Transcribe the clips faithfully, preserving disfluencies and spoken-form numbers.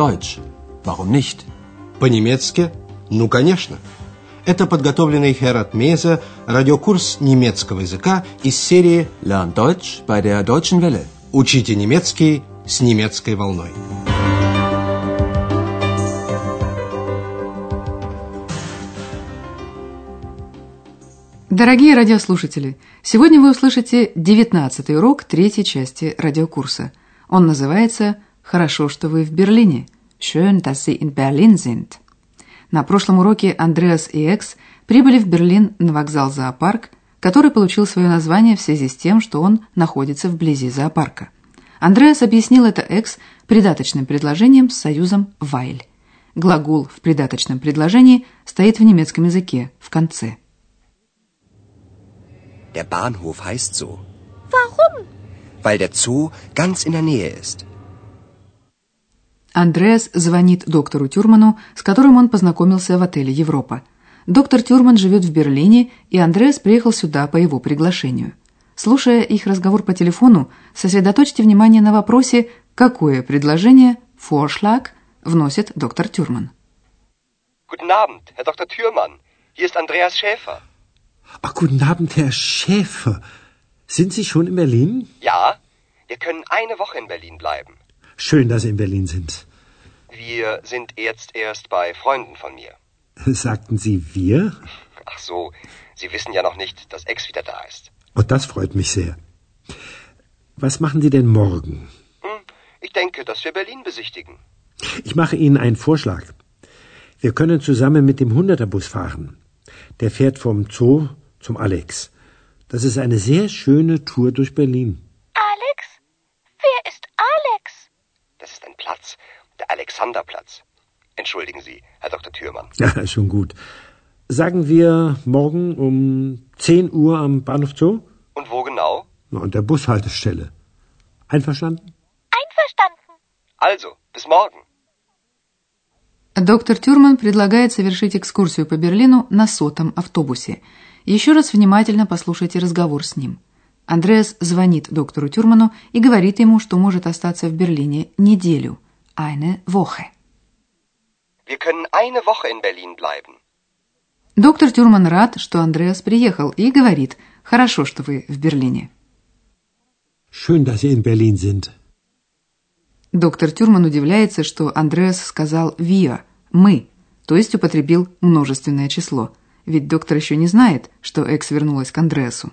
Deutsch. Warum nicht? По-немецки? Ну, конечно. Это подготовленный Херат Мейзе радиокурс немецкого языка из серии Lern Deutsch bei der Deutschen Welle. «Учите немецкий с немецкой волной». Дорогие радиослушатели, сегодня вы услышите девятнадцатый урок третьей части радиокурса. Он называется «Хорошо, что вы в Берлине». Schön, dass Sie in Berlin sind. На прошлом уроке Андреас и Экс прибыли в Берлин на вокзал «Зоопарк», который получил свое название в связи с тем, что он находится вблизи зоопарка. Андреас объяснил это Экс придаточным предложением с союзом «weil». Глагол в придаточном предложении стоит в немецком языке в конце. Der Bahnhof heißt so. Warum? Weil der Zoo ganz in der Nähe ist. Андреас звонит доктору Тюрману, с которым он познакомился в отеле «Европа». Доктор Тюрман живет в Берлине, и Андреас приехал сюда по его приглашению. Слушая их разговор по телефону, сосредоточьте внимание на вопросе, какое предложение, Vorschlag, вносит доктор Тюрман. Guten Abend, Herr Doktor Thürmann. Hier ist Andreas Schäfer. Ach, guten Abend, Herr Schäfer. Sind Sie schon in Berlin? Ja, wir können eine Woche in Berlin bleiben. Schön, dass Sie in Berlin sind. Wir sind jetzt erst bei Freunden von mir. Sagten Sie wir? Ach so, Sie wissen ja noch nicht, dass Ex wieder da ist. Oh, das freut mich sehr. Was machen Sie denn morgen? Hm, ich denke, dass wir Berlin besichtigen. Ich mache Ihnen einen Vorschlag. Wir können zusammen mit dem Hunderterbus fahren. Der fährt vom Zoo zum Alex. Das ist eine sehr schöne Tour durch Berlin. Alex? Wer ist Alex? Das ist ein Platz, der Alexanderplatz. Entschuldigen Sie, Herr Doktor Thürmann. Ja, schon gut. Sagen wir morgen um zehn Uhr am Bahnhof Zoo? Und wo genau? Na, an der Bushaltestelle. Einverstanden? Einverstanden. Also, bis morgen. Доктор Тюрман предлагает совершить экскурсию по Берлину на сотом автобусе. Еще раз внимательно послушайте разговор с ним. Андреас звонит доктору Тюрману и говорит ему, что может остаться в Берлине неделю. Eine Woche. Wir können eine Woche in Berlin bleiben. Доктор Тюрман рад, что Андреас приехал, и говорит: «Хорошо, что вы в Берлине». Schön, dass Sie in Berlin sind. Доктор Тюрман удивляется, что Андреас сказал «wir», «мы», то есть употребил множественное число. Ведь доктор еще не знает, что Экс вернулась к Андреасу.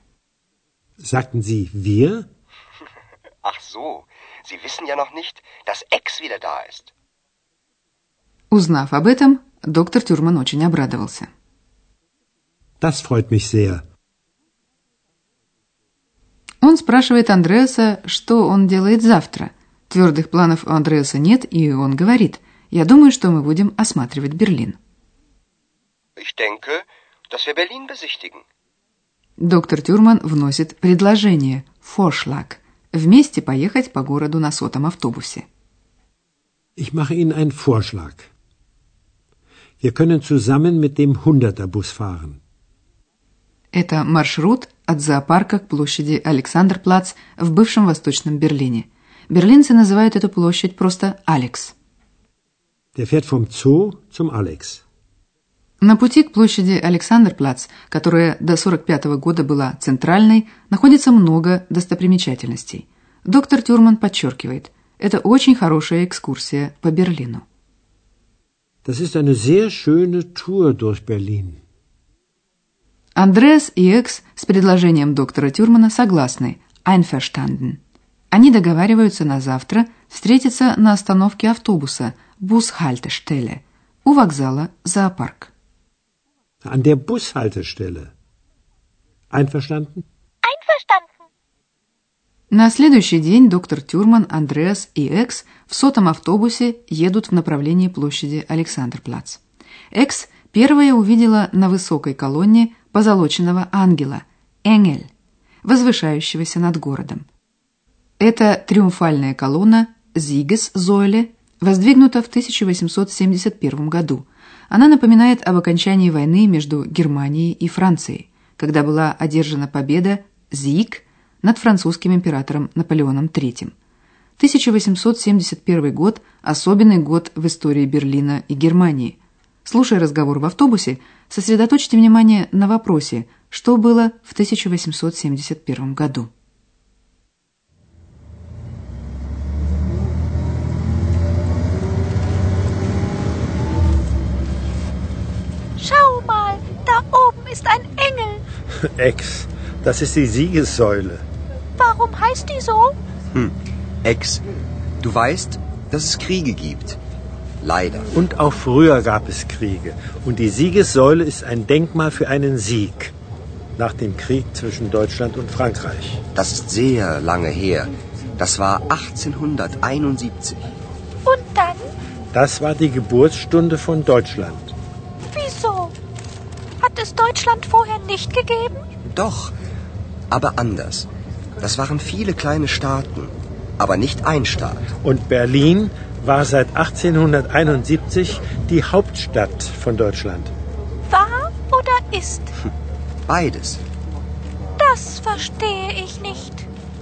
Sagten Sie wir? Ach so, Sie wissen ja noch nicht, dass Ex wieder da ist. Узнав об этом, доктор Тюрман очень обрадовался. Das freut mich sehr. Он спрашивает Андреаса, что он делает завтра. Твердых планов у Андреаса нет, и он говорит: «Я думаю, что мы будем осматривать Берлин». Ich denke, dass wir Berlin besichtigen. Доктор Тюрман вносит предложение Vorschlag вместе поехать по городу на сотом автобусе. Ich mache Ihnen einen Vorschlag. Wir können zusammen mit dem Hunderterbus fahren. Это маршрут от зоопарка к площади Александрплац в бывшем Восточном Берлине. Берлинцы называют эту площадь просто Алекс. Der fährt vom Zoo zum Alex. На пути к площади Александрплац, которая до сорок пятого года была центральной, находится много достопримечательностей. Доктор Тюрман подчеркивает, это очень хорошая экскурсия по Берлину. Das ist eine sehr schöne Tour durch Berlin. Андреас и Экс с предложением доктора Тюрмана согласны. Einverstanden. Они договариваются на завтра встретиться на остановке автобуса Bushaltestelle у вокзала «Зоопарк». An der Bushaltestelle. Einverstanden? Einverstanden. На следующий день доктор Тюрман, Андреас и Экс в сотом автобусе едут в направлении площади Александрплац. Экс первая увидела на высокой колонне позолоченного ангела, Engel, возвышающегося над городом. Эта триумфальная колонна Siegessäule воздвигнута в тысяча восемьсот семьдесят первом году. Она напоминает об окончании войны между Германией и Францией, когда была одержана победа Sieg над французским императором Наполеоном третьим. тысяча восемьсот семьдесят первый год – особенный год в истории Берлина и Германии. Слушая разговор в автобусе, сосредоточьте внимание на вопросе, что было в тысяча восемьсот семьдесят первом году. Schau mal, da oben ist ein Engel. Ex, das ist die Siegessäule. Warum heißt die so? Hm, Ex, du weißt, dass es Kriege gibt. Leider. Und auch früher gab es Kriege. Und die Siegessäule ist ein Denkmal für einen Sieg. Nach dem Krieg zwischen Deutschland und Frankreich. Das ist sehr lange her. Das war achtzehnhunderteinundsiebzig. Und dann? Das war die Geburtsstunde von Deutschland. Wieso? Hat es Deutschland vorher nicht gegeben? Doch, aber anders. Das waren viele kleine Staaten, aber nicht ein Staat. Und Berlin war seit achtzehnhunderteinundsiebzig die Hauptstadt von Deutschland. War oder ist? Beides. Das verstehe ich nicht.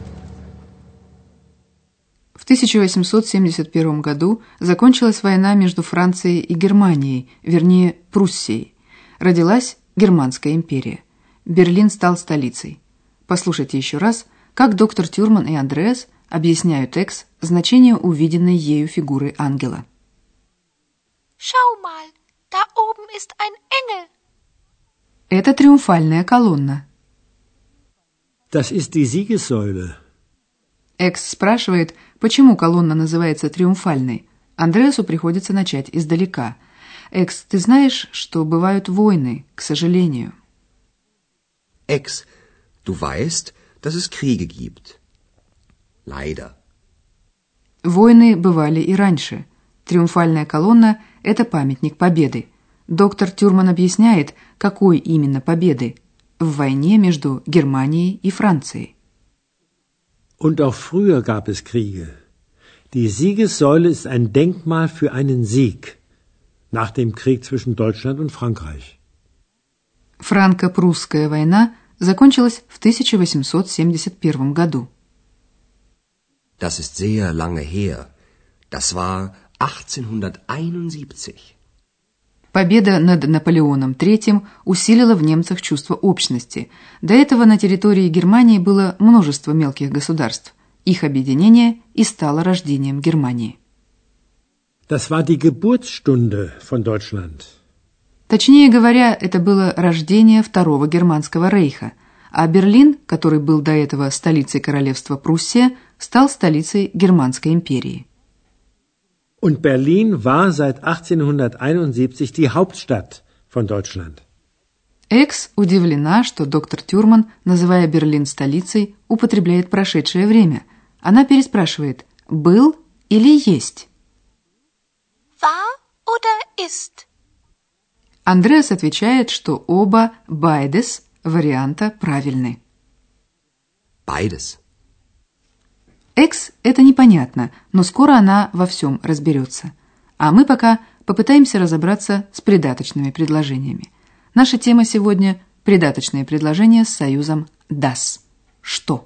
В тысяча восемьсот семьдесят первом году закончилась война между Францией и Германией, вернее, Пруссией. Родилась Германская империя. Берлин стал столицей. Послушайте еще раз, как доктор Тюрман и Андреас объясняют Экс значение увиденной ею фигуры ангела. Schau mal, da oben ist ein Engel. Это триумфальная колонна. Das ist die Siegessäule. Экс спрашивает, почему колонна называется триумфальной. Андреасу приходится начать издалека. Экс, ты знаешь, что бывают войны, к сожалению. Ex, du weißt, dass es Kriege gibt. Leider. Войны бывали и раньше. Триумфальная колонна – это памятник победы. Доктор Тюрман объясняет, какой именно победы в войне между Германией и Францией. Und auch früher gab es Kriege. Die Siegessäule ist ein Denkmal für einen Sieg nach dem Krieg zwischen Deutschland und Frankreich. Франко-прусская война закончилась в тысяча восемьсот семьдесят первом году. Das ist sehr lange her. Das war achtzehnhunderteinundsiebzig. Победа над Наполеоном третьим усилила в немцах чувство общности. До этого на территории Германии было множество мелких государств. Их объединение и стало рождением Германии. Das war die Geburtsstunde von Deutschland. Точнее говоря, это было рождение Второго Германского рейха, а Берлин, который был до этого столицей королевства Пруссия, стал столицей Германской империи. Und Berlin war seit achtzehnhunderteinundsiebzig die Hauptstadt von Deutschland. Экс удивлена, что доктор Тюрман, называя Берлин столицей, употребляет прошедшее время. Она переспрашивает «был» или «есть». War oder ist? Андреас отвечает, что оба «beides» варианта правильны. Beides. Экс – это непонятно, но скоро она во всем разберется. А мы пока попытаемся разобраться с придаточными предложениями. Наша тема сегодня – придаточные предложения с союзом das. Что?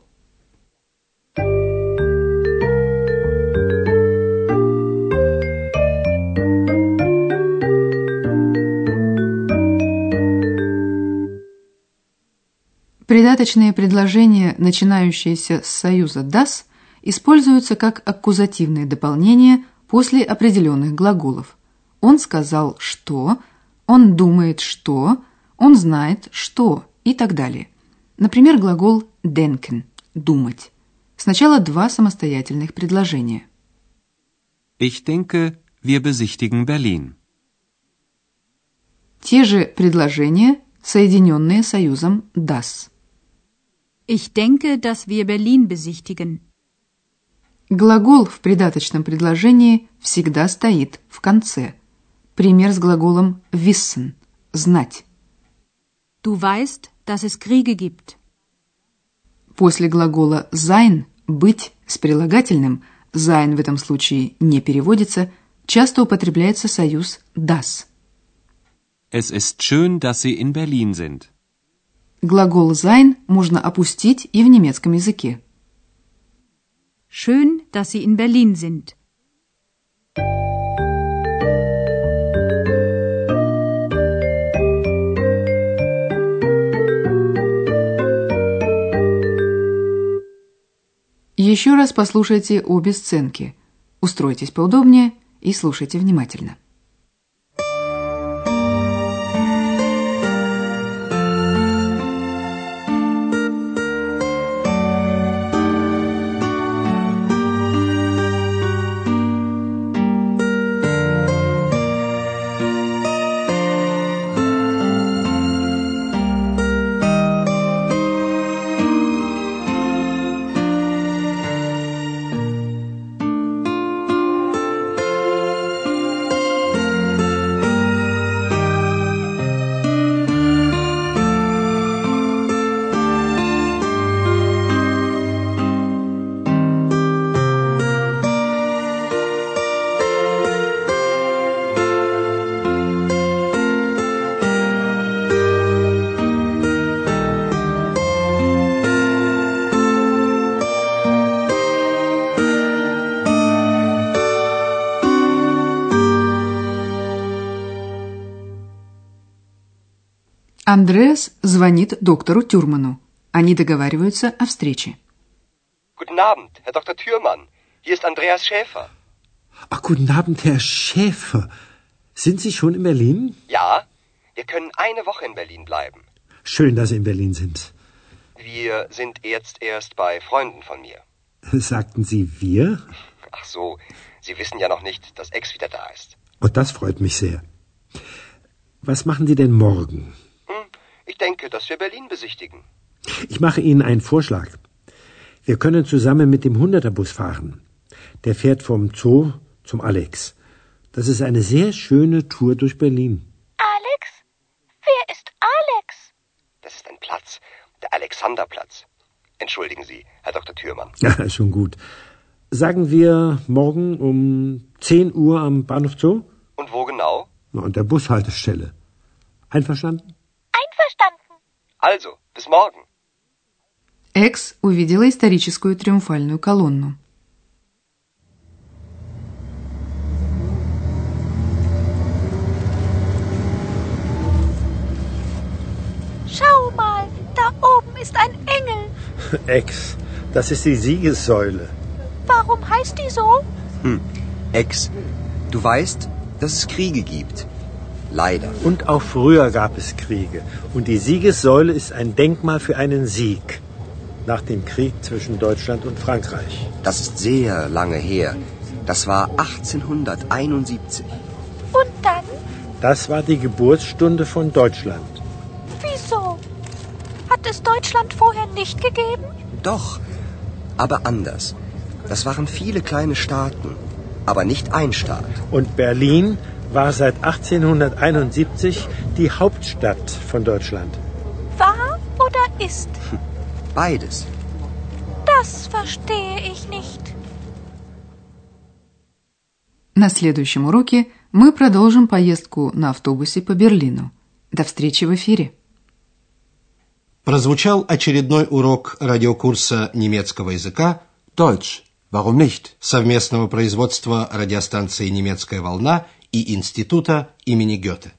Придаточные предложения, начинающиеся с союза das, используются как аккузативные дополнения после определенных глаголов. Он сказал «что», он думает «что», он знает «что» и так далее. Например, глагол denken – «думать». Сначала два самостоятельных предложения. Ich denke, wir besichtigen Berlin. Те же предложения, соединенные союзом das. Ich denke, dass wir Berlin besichtigen. Глагол в придаточном предложении всегда стоит в конце. Пример с глаголом wissen – знать. Du weißt, dass es Kriege gibt. После глагола sein – быть с прилагательным, sein в этом случае не переводится, часто употребляется союз das. Es ist schön, dass Sie in Berlin sind. Глагол sein можно опустить и в немецком языке. Schön, dass Sie in Berlin sind. Еще раз послушайте обе сценки. Устройтесь поудобнее и слушайте внимательно. Андреас звонит доктору Тюрману. Они договариваются о встрече. Guten Abend, Herr Doktor Thürmann. Hier ist Andreas Schäfer. Ach, guten Abend, Herr Schäfer. Sind Sie schon in Berlin? Ja, wir können eine Woche in Berlin bleiben. Schön, dass Sie in Berlin sind. Wir sind jetzt erst bei Freunden von mir. Sagten Sie wir? Ach so, Sie wissen ja noch nicht, dass Ex wieder da ist. Oh, das freut mich sehr. Was machen Sie denn morgen? Hm, ich denke, dass wir Berlin besichtigen. Ich mache Ihnen einen Vorschlag. Wir können zusammen mit dem Hunderterbus fahren. Der fährt vom Zoo zum Alex. Das ist eine sehr schöne Tour durch Berlin. Alex? Wer ist Alex? Das ist ein Platz, der Alexanderplatz. Entschuldigen Sie, Herr Doktor Thürmann. Ja, schon gut. Sagen wir morgen um zehn Uhr am Bahnhof Zoo? Und wo genau? Na, an der Bushaltestelle. Einverstanden? Einverstanden. Also, bis morgen. Экс увидела историческую триумфальную колонну. Schau mal, da oben ist ein Engel. Ex, das ist die Siegessäule. Warum heißt die so? Hm, Ex, du weißt, dass es Kriege gibt. Leider. Und auch früher gab es Kriege. Und die Siegessäule ist ein Denkmal für einen Sieg. Nach dem Krieg zwischen Deutschland und Frankreich. Das ist sehr lange her. Das war achtzehnhunderteinundsiebzig. Und dann? Das war die Geburtsstunde von Deutschland. Wieso? Hat es Deutschland vorher nicht gegeben? Doch, aber anders. Das waren viele kleine Staaten, aber nicht ein Staat. Und Berlin war seit achtzehnhunderteinundsiebzig die Hauptstadt von Deutschland. War oder ist? Beides. Das verstehe ich nicht. На следующем уроке мы продолжим поездку на автобусе по Берлину. До встречи в эфире. Прозвучал очередной урок радиокурса немецкого языка Deutsch. Warum nicht? совместного производства радиостанции «Немецкая волна» и Института имени Гёте.